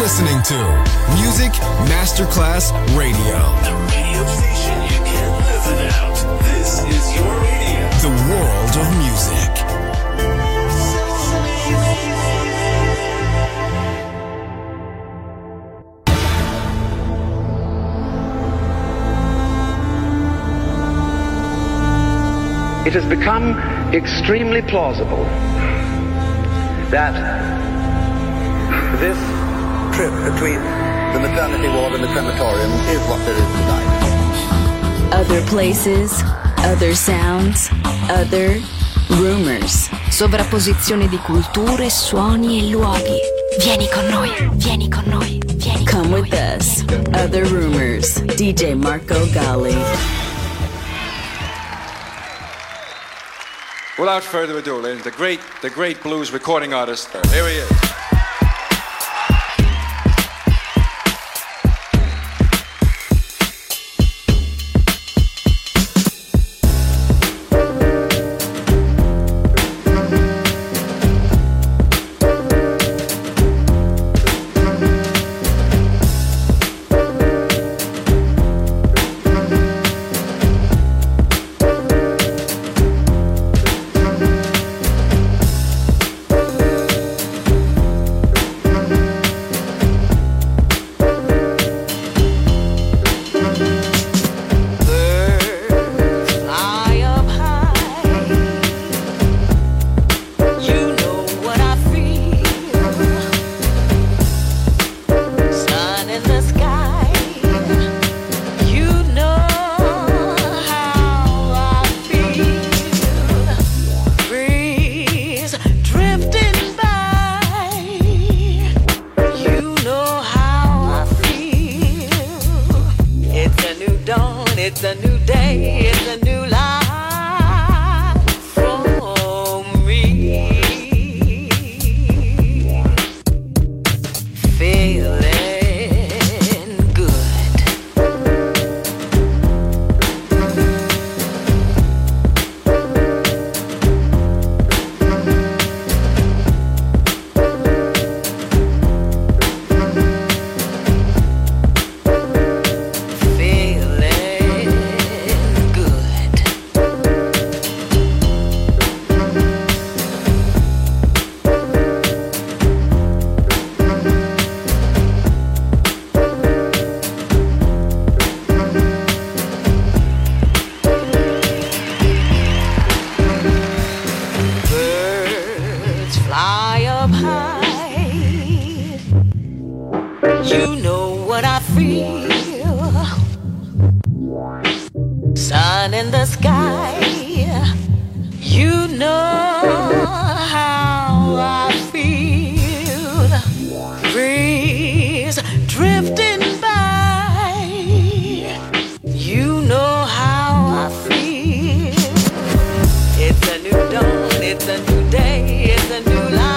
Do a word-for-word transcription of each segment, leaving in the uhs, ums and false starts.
listening to Music Masterclass Radio. The radio station you can't live without. This is your radio. The world of music. It has become extremely plausible that this trip between the maternity ward and the crematorium is what there is tonight. Other places, other sounds, other rumors. Sovrapposizione di culture, suoni e luoghi. Vieni con noi, vieni con noi, vieni con Come noi. with us. Other rumors. D J Marco Gally. Without further ado, ladies, the great, the great blues recording artist. Here he is. It's a new day, it's a new life for me. Feeling good. Sun in the sky, you know how I feel. Breeze drifting by, you know how I feel. It's a new dawn, it's a new day, it's a new life.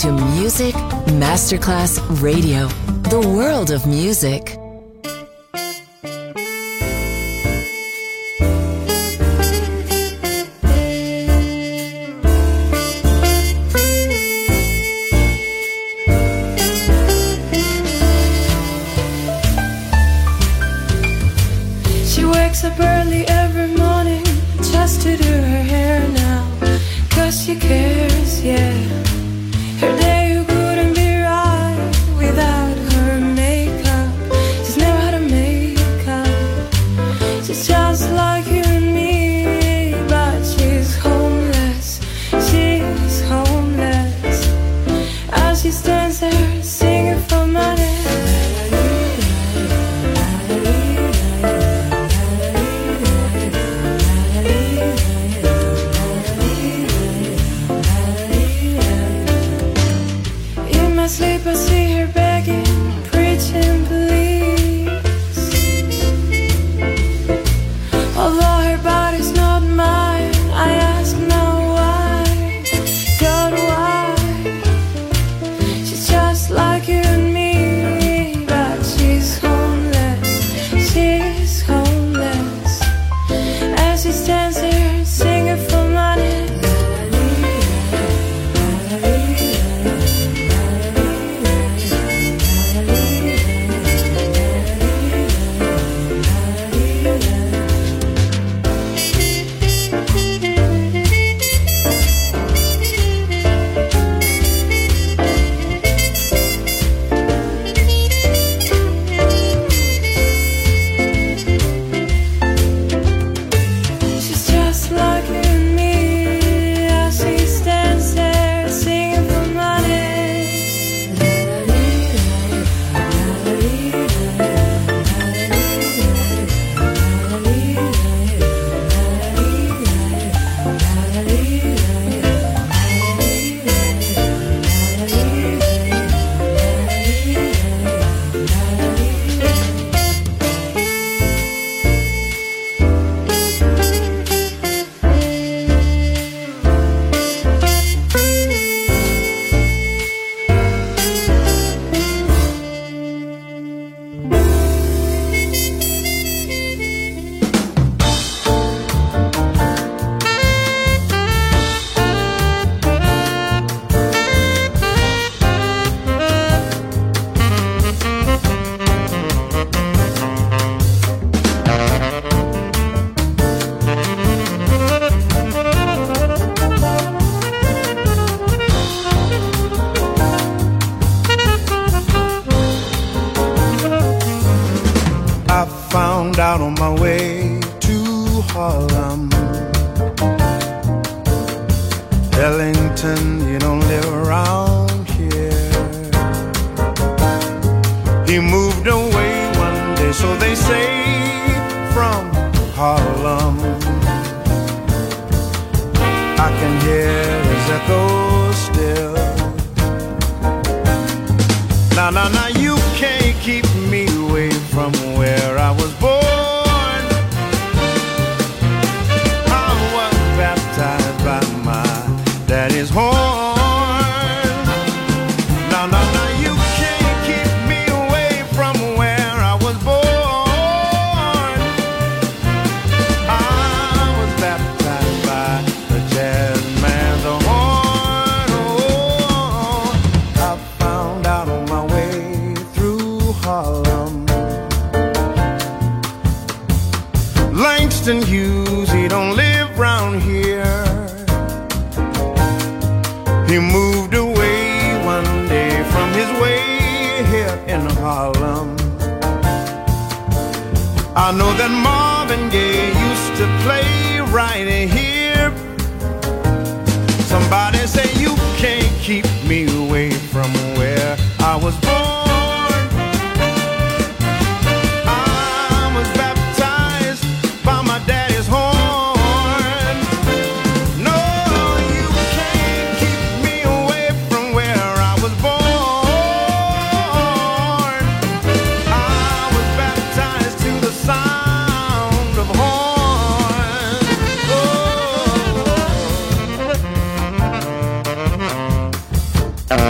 to Music Masterclass Radio, the world of music. She wakes up early every morning just to do her hair now, 'cause she cares, yeah. Her day couldn't be right without her makeup. She's never had a makeup. She's just like you and me, but she's homeless. She's homeless. As she stands there singing for money. Sleep, I see her begging, preaching, please. Although her body's not mine, I ask now why, God, why? She's just like you and me, but she's homeless, she's homeless. As she stands there singing for money. Out on my way to Harlem. Ellington, you don't live around here. He moved away one day, so they say, from Harlem. I can hear his echo still. Now, now, now, you can't keep me away from where I was born. Daddy's horn. Now, now, now, you can't keep me away from where I was born. I was baptized by the jazz man's horn. Oh, I found out on my way through Harlem. Langston Hughes, he don't live round here. He moved away one day from his way here in Harlem. I know that Marvin Gaye used to play right here. Somebody say you can't keep me away from where I was born. I was baptized by my daddy's horn. Uh-huh.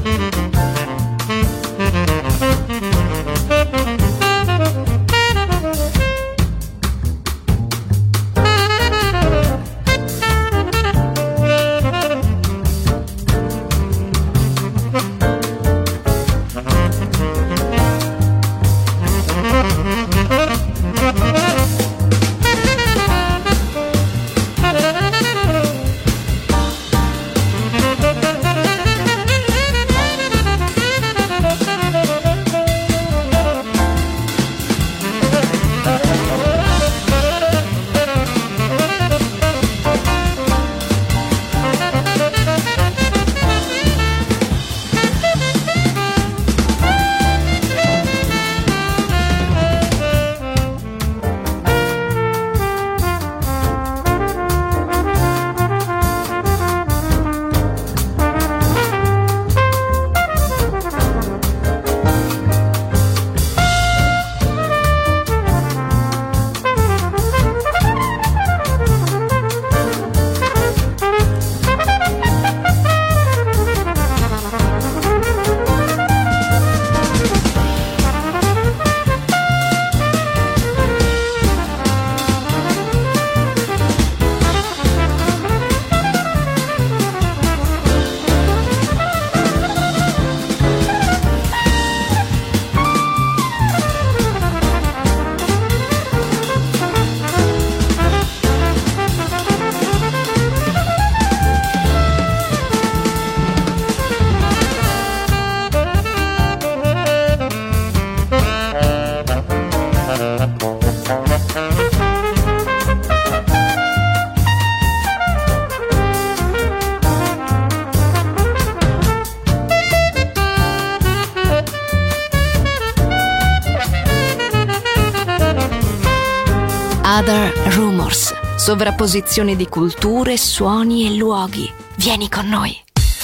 Other Rumors, sovrapposizione di culture, suoni e luoghi. Vieni con noi.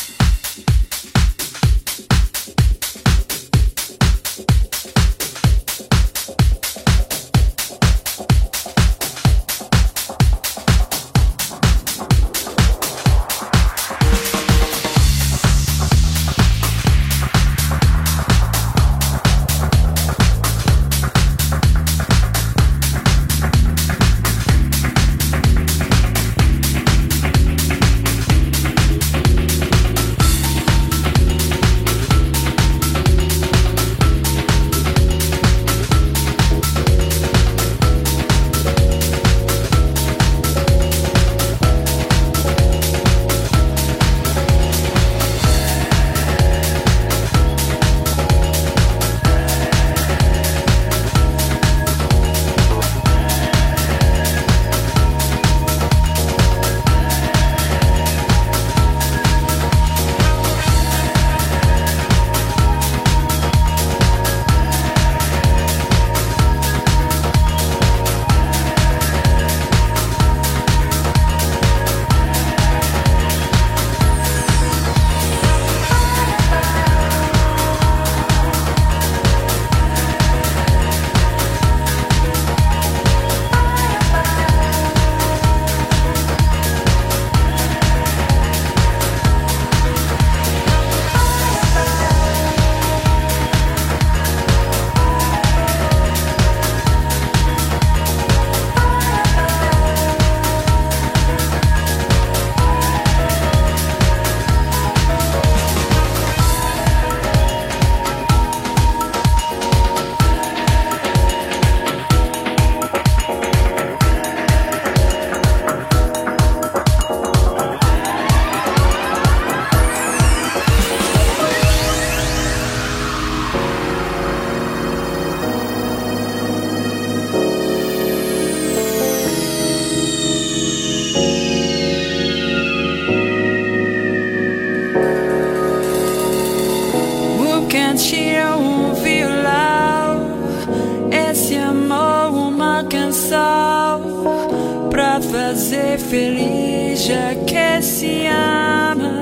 Fazer feliz já que se ama.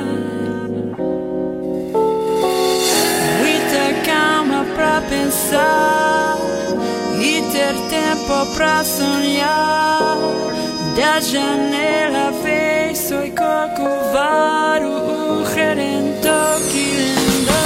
Muita calma pra pensar e ter tempo pra sonhar. Da janela vejo o corcovado, o redentor que lindou.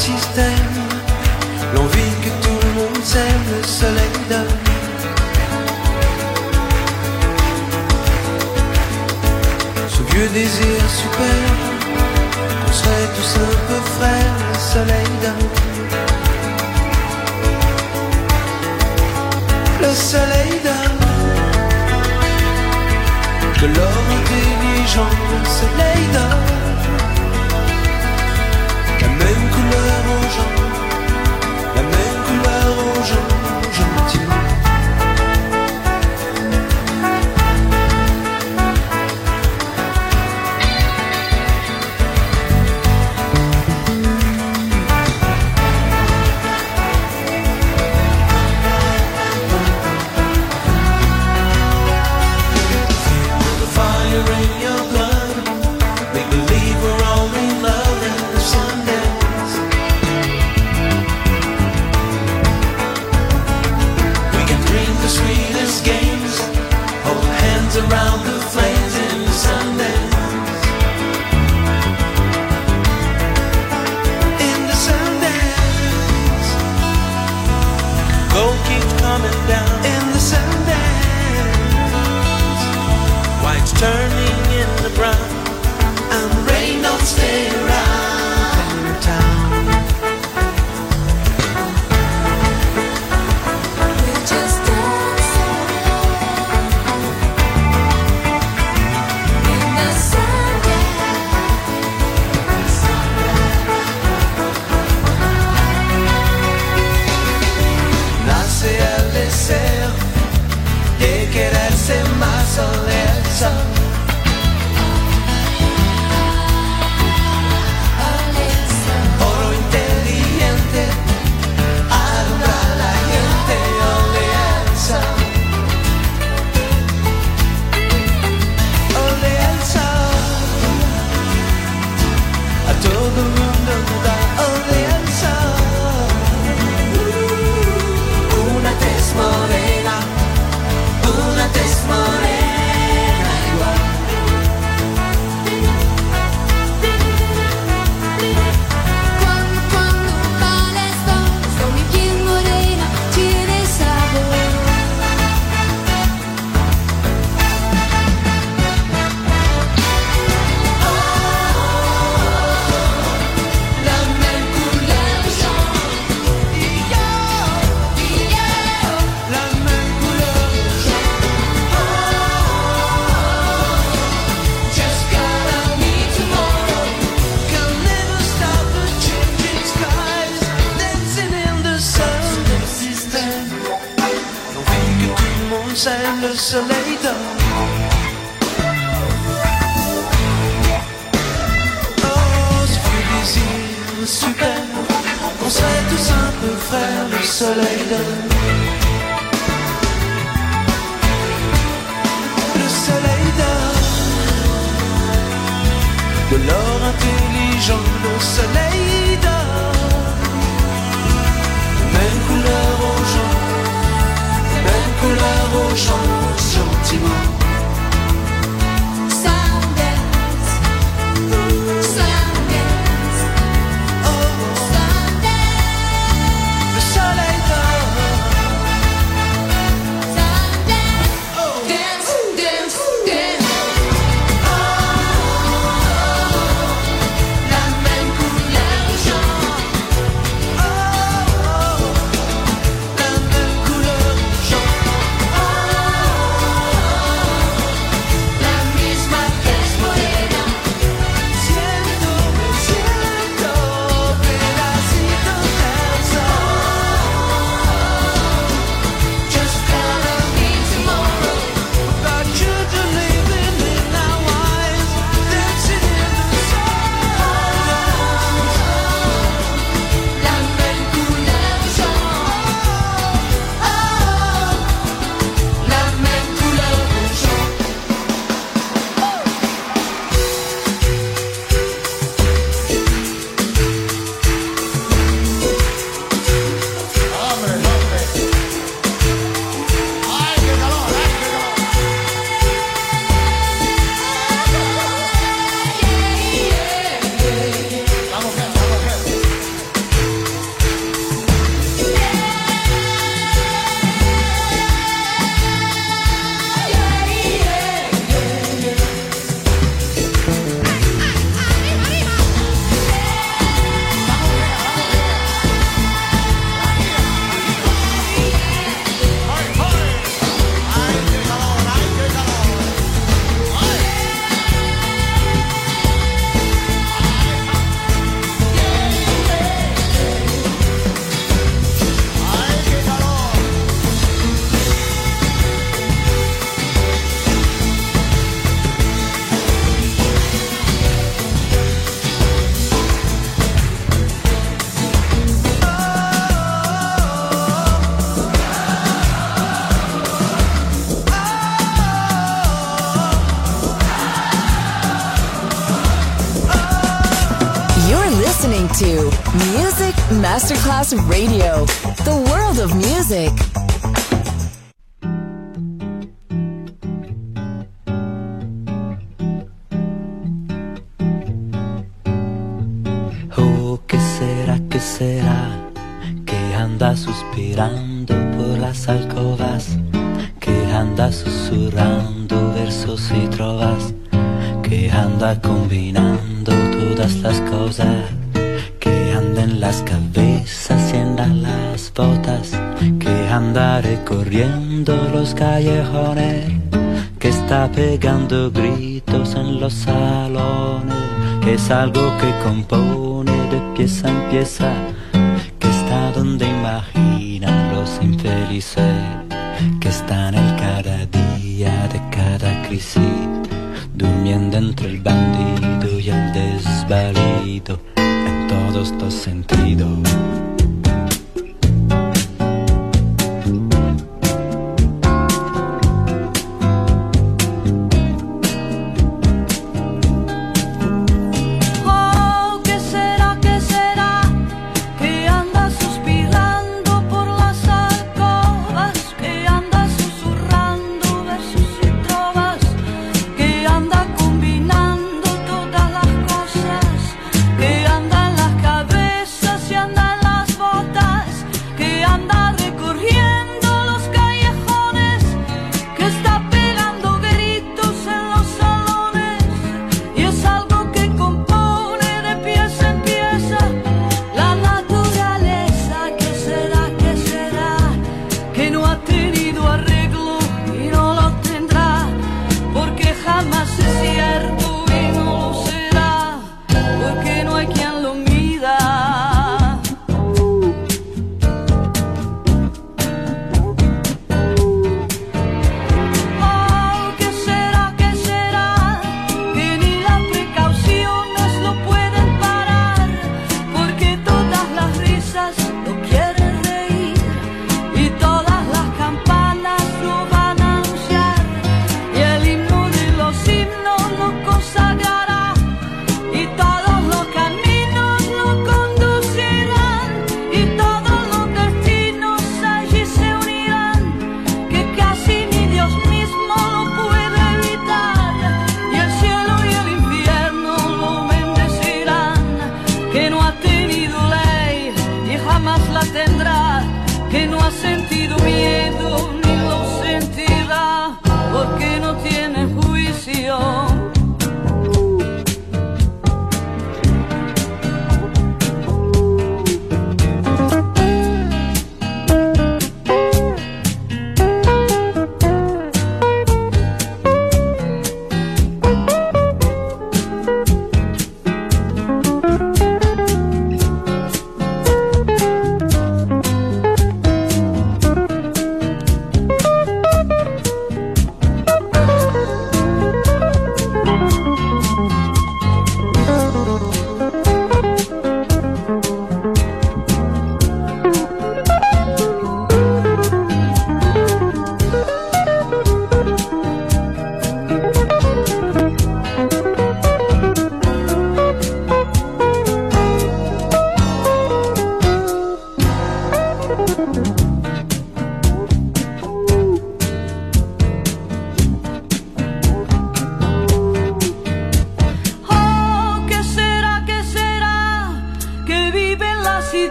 système, l'envie que tout le monde s'aime, le soleil donne. Ce vieux désir super, qu'on serait tous un peu frères, le soleil donne. Le soleil donne de l'or intelligent, le soleil donne la même couleur aux gens, la même couleur aux gens, gentiment. Around the flames in the Sundance, in the Sundance, gold keeps coming down in the Sundance, white's turning into brown, and the rain don't stay around in town. De quererse más o lejos, oro inteligente, alumbra a la gente, oleanza, oleanza, a todo el mundo da oleanza, una tez morena. Una tez morena igual. Cuando, cuando balas dos con mi piel morena tiene sabor. Oh, la même couleur jaune. Y yo, y yo, la même couleur. Le soleil donne. Oh, ce vieux désir super, qu'on serait tous un peu frères, le soleil donne. Le soleil donne de l'or intelligent, le soleil donne même couleur aux gens, même couleur aux gens, gentiment. Sundance, Sundance, Oh, Sundance, le soleil donne. Sundance, dance, dance, dance. Oh, la même couleur jaune. Oh, oh, la même couleur jaune. Oh, to Music Masterclass Radio, the world of music. Oh, ¿qué será, qué será? Que anda suspirando por las alcobas, que anda susurrando versos y trovas, que anda combinando todas las cosas, que anda en las cabezas y en las botas, que anda recorriendo los callejones, que está pegando gritos en los salones, que es algo que compone de pieza en pieza, que está donde imaginan los infelices, que está en el cada día de cada crisis, durmiendo entre el bandido y el desvalido, en todos los sentidos.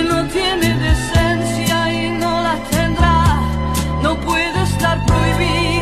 Tiene decencia y no la tendrá, no puede estar prohibido.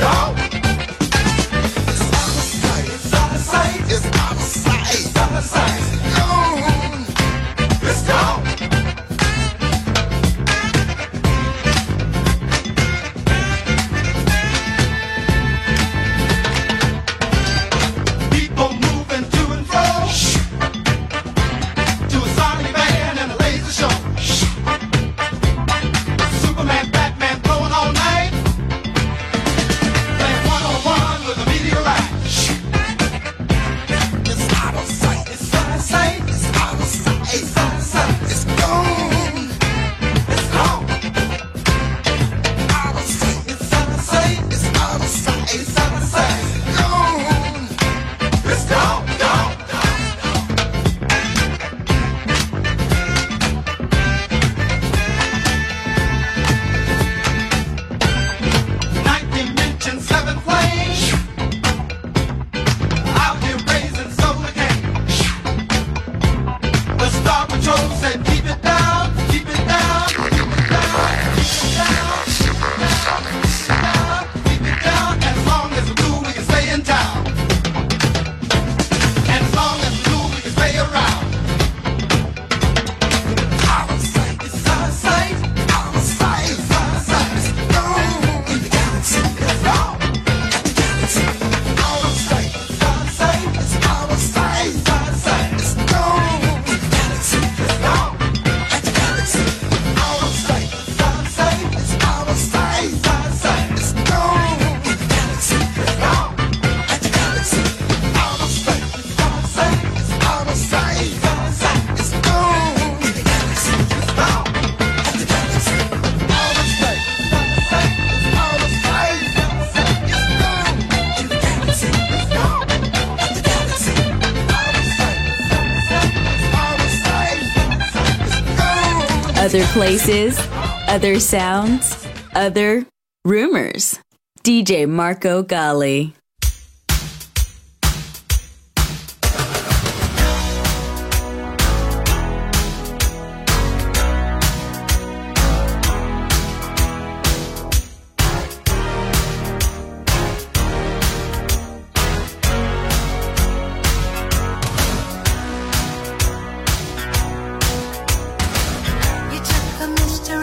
Other places, other sounds, other rumors. D J Marco Gally.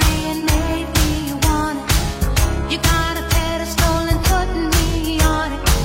You got a pedestal and putting me on it.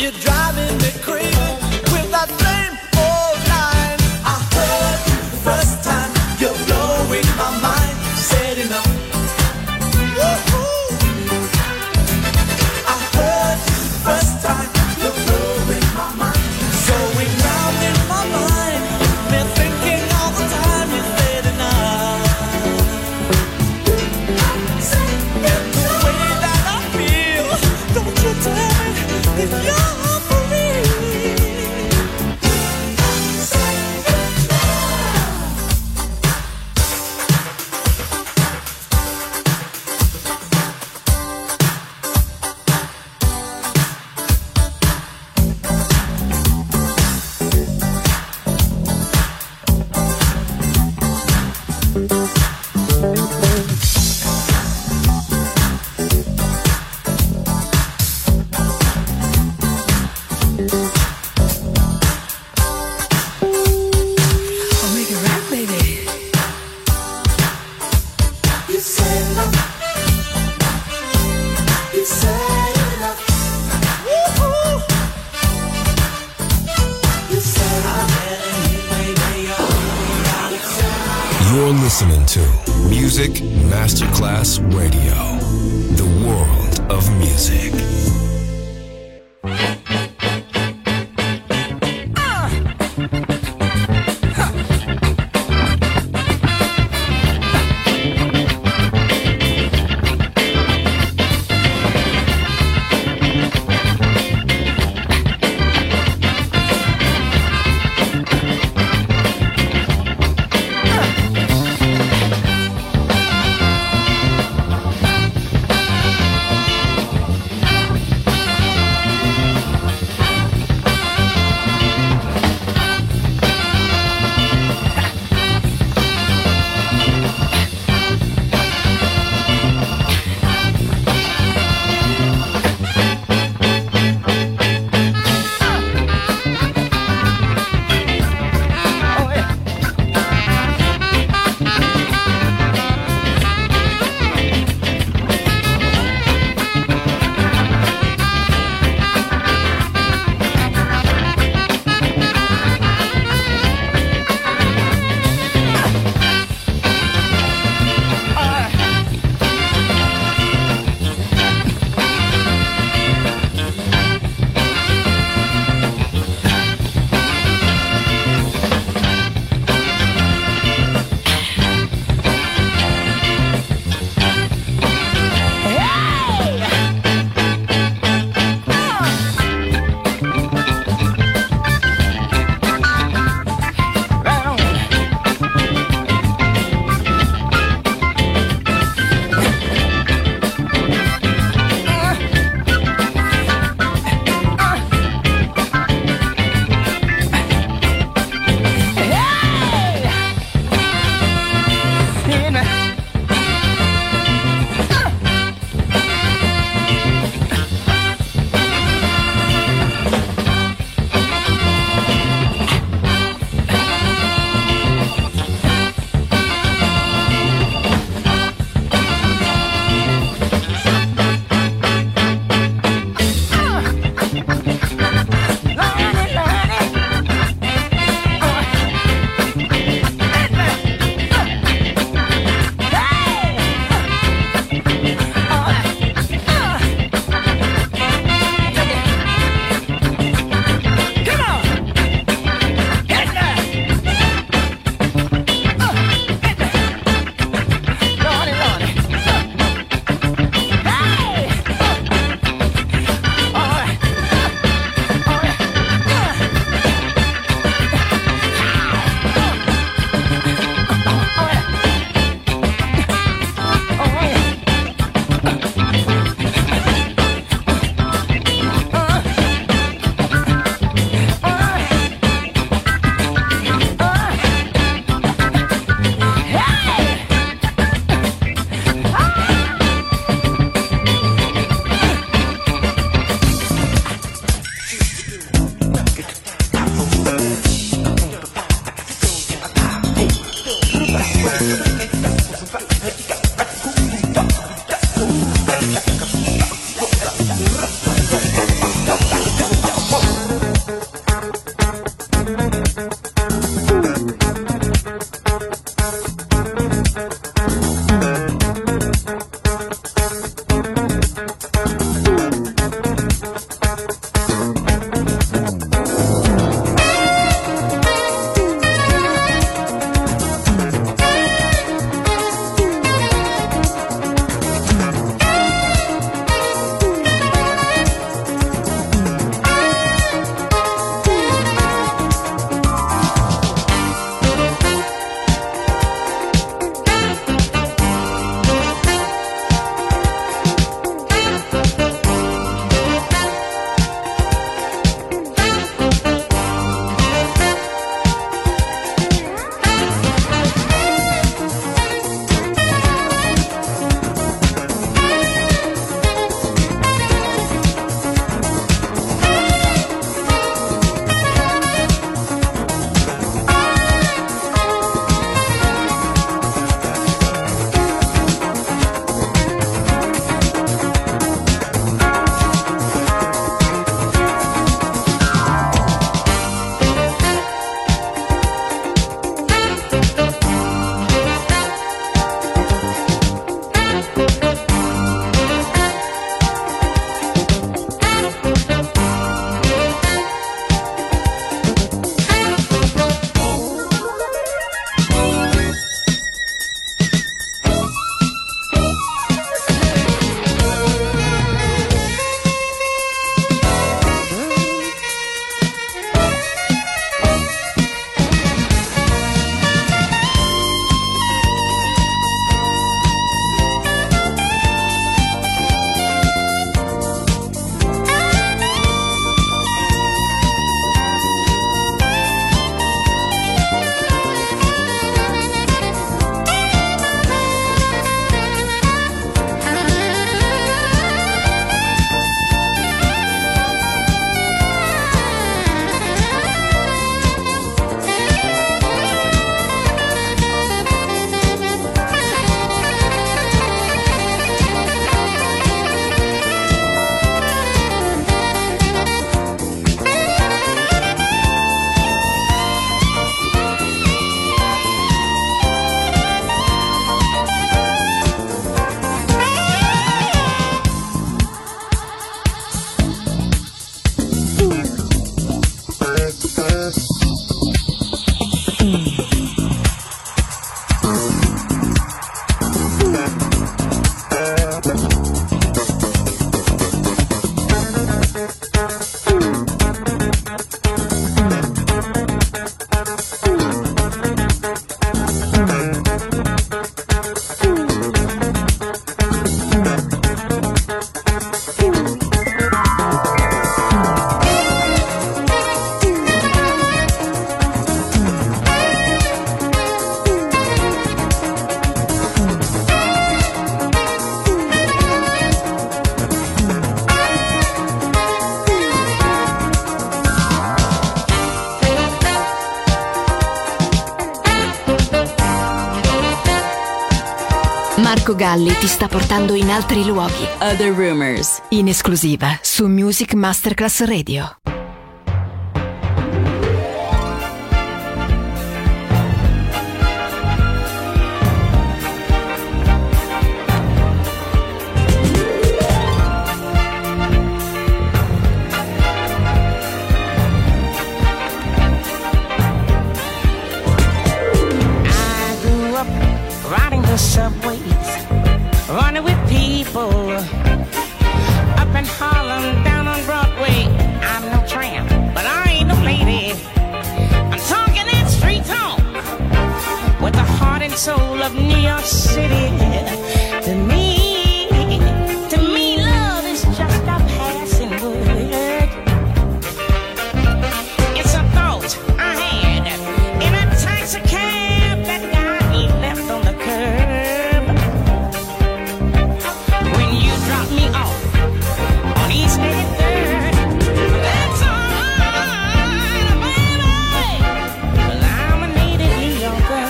You're driving me crazy with that same old line. I heard you the first time, you're blowing my mind. Said enough. Woo-hoo. I heard you the first time, you're blowing my mind. Going round in my mind, been thinking all the time. You said enough. And the way that I feel, don't you tell me that you're for real. I'll make it right, baby. You said enough. You said enough. Woo-hoo. You said enough. You're listening to Music Masterclass Radio, the world of music. Uh. Marco Galli ti sta portando in altri luoghi. Other Rumors. In esclusiva su Music Masterclass Radio. Subways, running with people up in Harlem, down on Broadway. I'm no tramp, but I ain't no lady. I'm talking that street talk with the heart and soul of New York City. To me, to me, love is just a passing word. It's a thought I had in a taxi cab that got left on the curb. When you drop me off on East eighty-third, that's alright, baby, 'cause I'm a native New Yorker,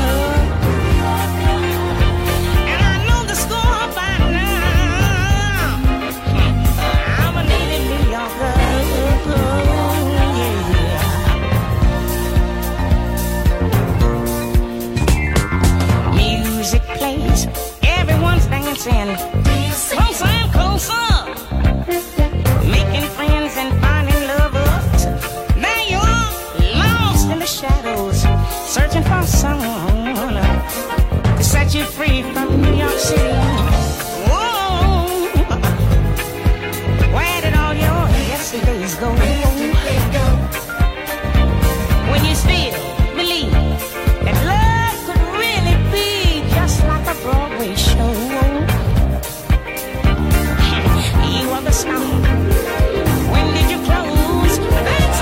and I know the score by now. I'm a native New Yorker, yeah. Music plays, everyone's dancing, closer and closer, making friends and finding lovers. Now you're lost in the shadows, searching for someone to set you free from New York City. Whoa, where did all your yesterdays go? When you still believe that love could really be just like a Broadway show. You are the star. When did you close? That's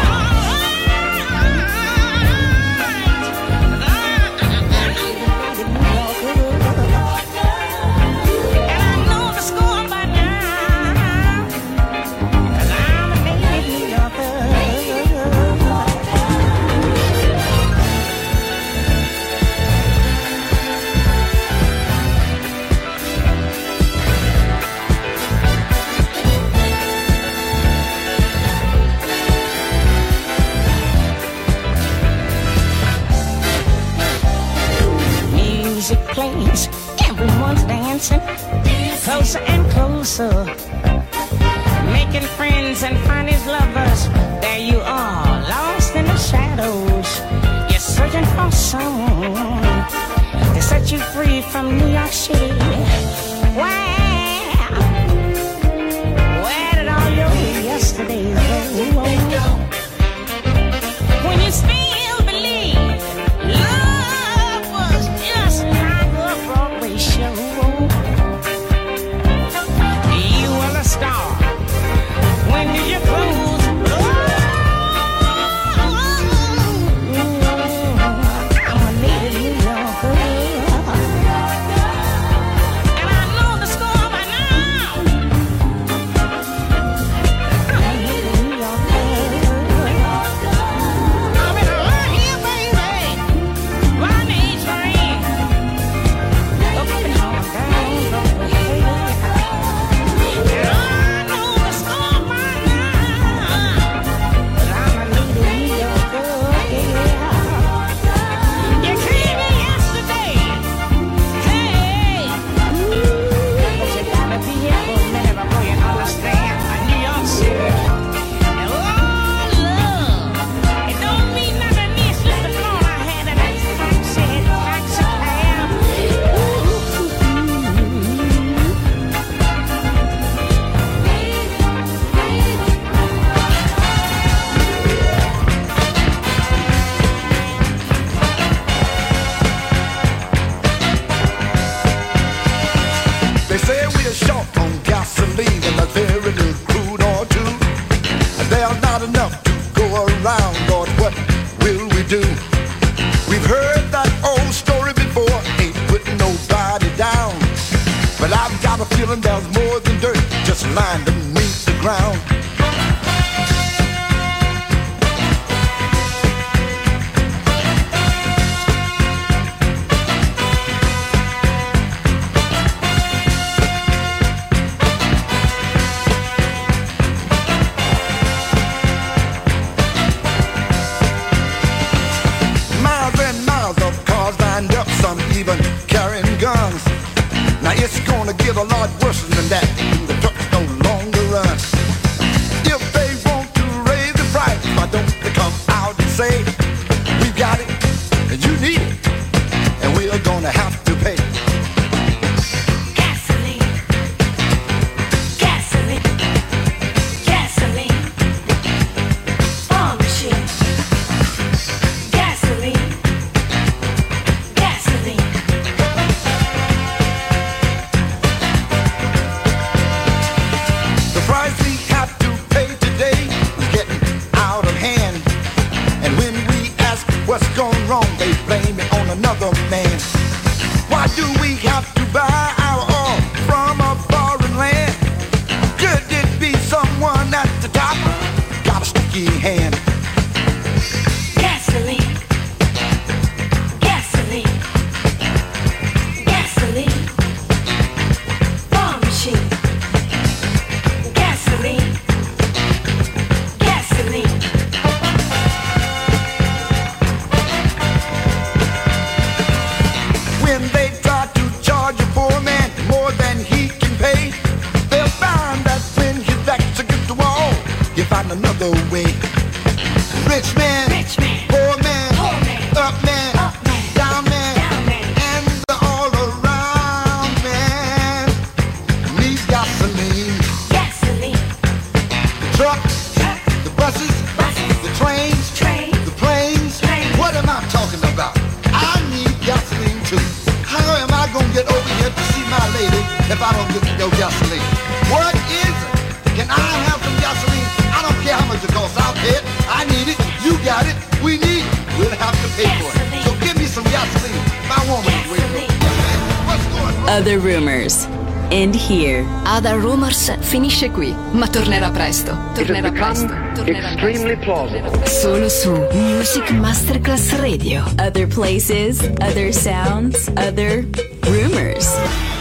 and I know the score by now, 'cause I'm a native New Yorker. Music plays, everyone's dancing, closer and closer, making friends and finding lovers. There you are, lost in the shadows. You're searching for someone to set you free from New York City. Where, where did all your yesterdays go? When you still believe love was just like a Broadway show. You were the star. When did you close? I'm a native New Yorker, and I know the score by now. I'm a native New Yorker. I've been right here, baby, my name's Rain. Up in Harlem, down Broadway, and I know the score by now, 'cause I'm a native New Yorker, yeah. You came in yesterday, hey, but you gotta be here for a minute before you understand New York City. And oh, love, it don't mean nothing to me. It's just the thought I had of that taxi, taxi cab. They say we are short on gasoline and a very little crude or two. And there's not enough to go around, Lord, what will we do? We've heard that old story before, ain't putting nobody down. But I've got a feeling there's more than dirt just lying beneath the ground. get a lot worse than that. The trucks no longer run. If they want to raise the price, why don't they come out and say, we got it, and you need it, and we are gonna have to pay. Gasoline, gasoline, gasoline, farm machine, gasoline, gasoline. The price we have to pay today is getting out of hand. And when we ask what's gone wrong, they blame it on another man. Why do we have to buy our oil from a foreign land? Could it be someone at the top got a sticky hand? Gasoline, gasoline, gasoline, farm machine, gasoline, gasoline. When they try to charge a poor man more than he can pay, they'll find that when his back's against the wall, you find another way. Rich man, Rich man, poor man, poor man, up man, up man, down man, down man. and the all around man needs gasoline. Gasoline, The trucks, truck, the buses, buses, the trains, train, the planes. Planes. What am I talking about? I need gasoline too. How am I gonna get over here to see my lady if I don't get no gasoline? What is it? Can I have some gasoline? I don't care how much it costs. I'll pay it. I need it. You got it. We need it. We'll have to pay for it. So give me some gasoline. My woman is waiting. What's going on? Other rumors end here. Other Rumors finisce qui, ma tornerà presto. It Tornerà has presto. become Tornerà extremely plausible. Solo su Music Masterclass Radio. Other places, other sounds, other rumors.